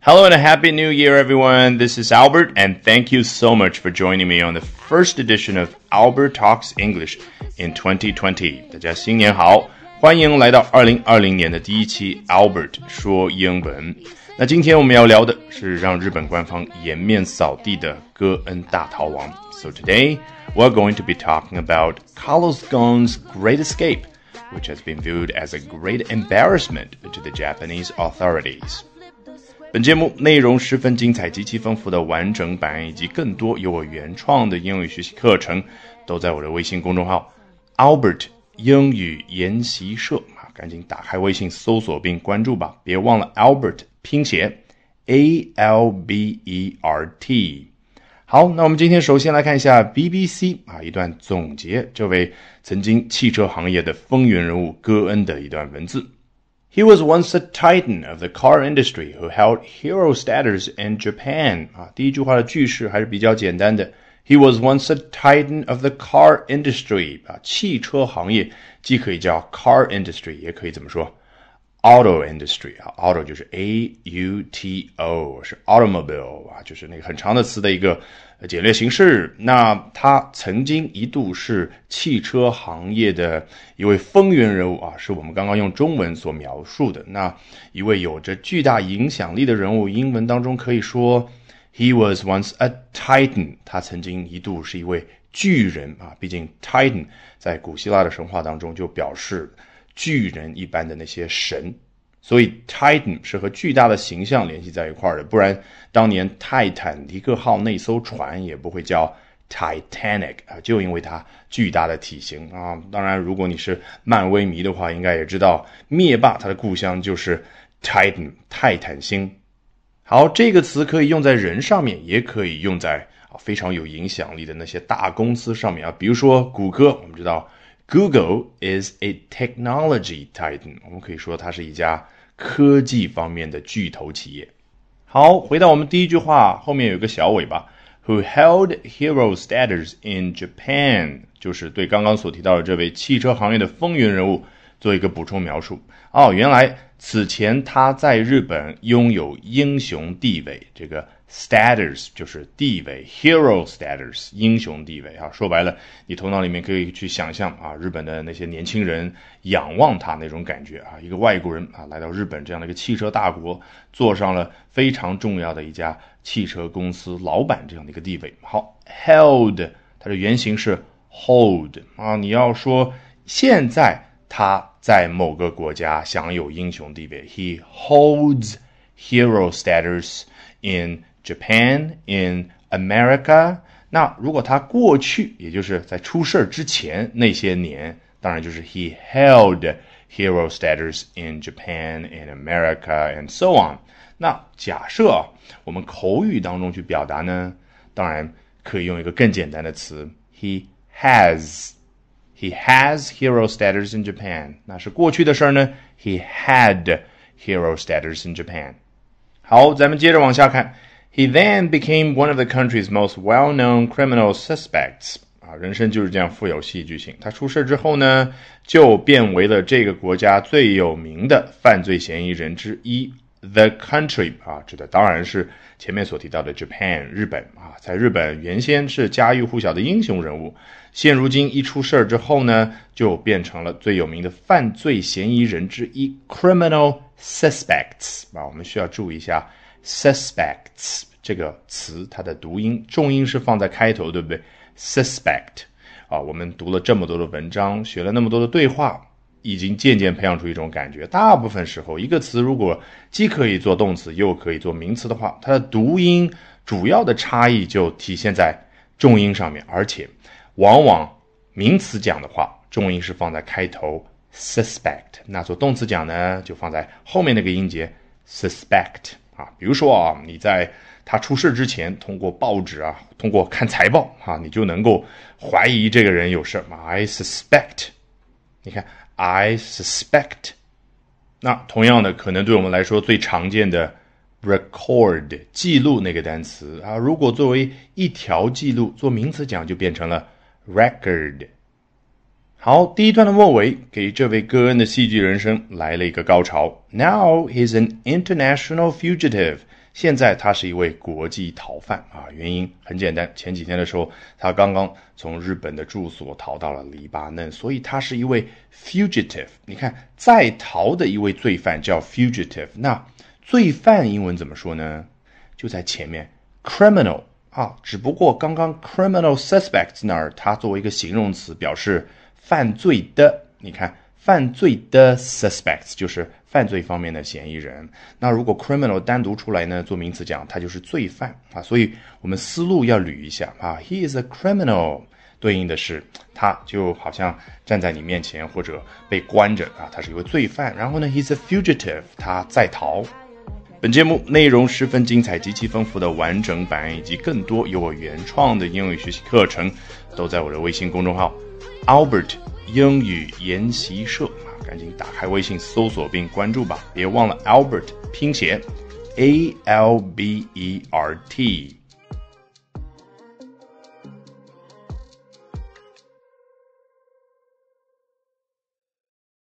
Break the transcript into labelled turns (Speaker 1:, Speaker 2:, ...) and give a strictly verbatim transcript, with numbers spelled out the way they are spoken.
Speaker 1: Hello and a happy new year, everyone. This is Albert, and thank you so much for joining me on the first edition of Albert Talks English in twenty twenty. 大家新年好，欢迎来到二零二零年的第一期 Albert 说英文。那今天我们要聊的是让日本官方颜面扫地的戈恩大逃亡。So today, we're going to be talking about Carlos Ghosn's Great Escape, which has been viewed as a great embarrassment to the Japanese authorities.本节目内容十分精彩，极其丰富的完整版以及更多由我原创的英语学习课程都在我的微信公众号 Albert 英语研习社，赶紧打开微信搜索并关注吧，别忘了 Albert 拼写 A L B E R T。 好，那我们今天首先来看一下 B B C 啊一段总结这位曾经汽车行业的风云人物戈恩的一段文字。He was once a titan of the car industry who held hero status in Japan. 啊，第一句话的句式还是比较简单的。He was once a titan of the car industry. 啊，汽车行业既可以叫 car industry， 也可以怎么说 auto industry。啊 ，auto 就是 A U T O， 是 automobile 啊，就是那个很长的词的一个简略形式。那他曾经一度是汽车行业的一位风云人物啊，是我们刚刚用中文所描述的。那一位有着巨大影响力的人物，英文当中可以说 He was once a titan， 他曾经一度是一位巨人啊，毕竟 titan 在古希腊的神话当中就表示巨人一般的那些神。所以 Titan 是和巨大的形象联系在一块儿的，不然当年泰坦尼克号那艘船也不会叫 Titanic 啊，就因为它巨大的体型啊。当然如果你是漫威迷的话，应该也知道灭霸他的故乡就是 Titan 泰坦星。好，这个词可以用在人上面，也可以用在啊非常有影响力的那些大公司上面啊，比如说谷歌，我们知道Google is a technology titan， 我们可以说它是一家科技方面的巨头企业。好，回到我们第一句话，后面有一个小尾巴 Who held hero status in Japan， 就是对刚刚所提到的这位汽车行业的风云人物做一个补充描述。哦，原来此前他在日本拥有英雄地位，这个status 就是地位 hero status 英雄地位啊，说白了你头脑里面可以去想象啊，日本的那些年轻人仰望他那种感觉啊，一个外国人啊来到日本这样的一个汽车大国，坐上了非常重要的一家汽车公司老板这样的一个地位。好 held 它的原型是 hold 啊，你要说现在他在某个国家享有英雄地位 He holds hero status in Japan, in America。 那如果他过去也就是在出事之前那些年，当然就是 He held hero status in Japan, in America, and so on。 那假设我们口语当中去表达呢，当然可以用一个更简单的词 He has He has hero status in Japan。 那是过去的事呢， He had hero status in Japan。 好，咱们接着往下看。He then became one of the country's most well-known criminal suspects。 啊，人生就是这样富有戏剧性。他出事之后呢，就变为了这个国家最有名的犯罪嫌疑人之一。The country 啊，指的当然是前面所提到的 Japan 日本啊，在日本原先是家喻户晓的英雄人物，现如今一出事之后呢，就变成了最有名的犯罪嫌疑人之一 criminal suspects 啊，我们需要注意一下 suspects 这个词它的读音，重音是放在开头，对不对？ suspect 啊，我们读了这么多的文章，学了那么多的对话，已经渐渐培养出一种感觉，大部分时候一个词如果既可以做动词又可以做名词的话，它的读音主要的差异就体现在重音上面，而且往往名词讲的话重音是放在开头 suspect， 那做动词讲呢就放在后面那个音节 suspect 啊。比如说啊，你在他出事之前通过报纸啊，通过看财报啊，你就能够怀疑这个人有事。 I suspect， 你看I suspect。 那同样的，可能对我们来说最常见的 record 记录那个单词啊，如果作为一条记录做名词讲就变成了 record。 好，第一段的末尾给这位戈恩的戏剧人生来了一个高潮。 Now he's an international fugitive， 现在他是一位国际逃犯啊，原因很简单，前几天的时候他刚刚从日本的住所逃到了黎巴嫩，所以他是一位 fugitive。 你看在逃的一位罪犯叫 fugitive， 那罪犯英文怎么说呢？就在前面 criminal 啊，只不过刚刚 criminal suspect 那儿它作为一个形容词表示犯罪的，你看犯罪的 suspects 就是犯罪方面的嫌疑人，那如果 criminal 单独出来呢，做名词讲它就是罪犯啊，所以我们思路要捋一下啊 he is a criminal 对应的是他就好像站在你面前或者被关着啊，他是一位罪犯，然后呢 he's a fugitive 他在逃。本节目内容十分精彩，极其丰富的完整版以及更多由我原创的英语学习课程都在我的微信公众号 Albert 英语研习社，赶紧打开微信搜索并关注吧，别忘了 Albert 拼写 A L B E R T。